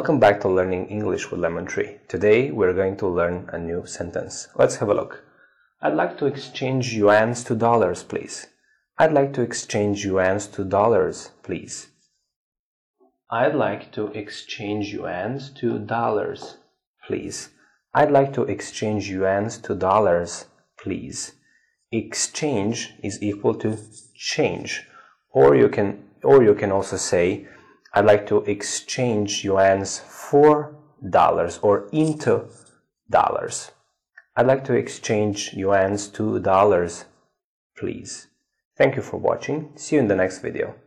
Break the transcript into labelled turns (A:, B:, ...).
A: Welcome back to Learning English with Lemon Tree. Today we're going to learn a new sentence. Let's have a look. I'd like to exchange yuans to dollars, please. I'd like to exchange yuans to dollars, please. I'd like to exchange yuans to dollars, please. I'd like to exchange yuans to dollars, please. Exchange is equal to change, or you can also say I'd like to exchange yuans for dollars or into dollars. I'd like to exchange yuans to dollars, please. Thank you for watching. See you in the next video.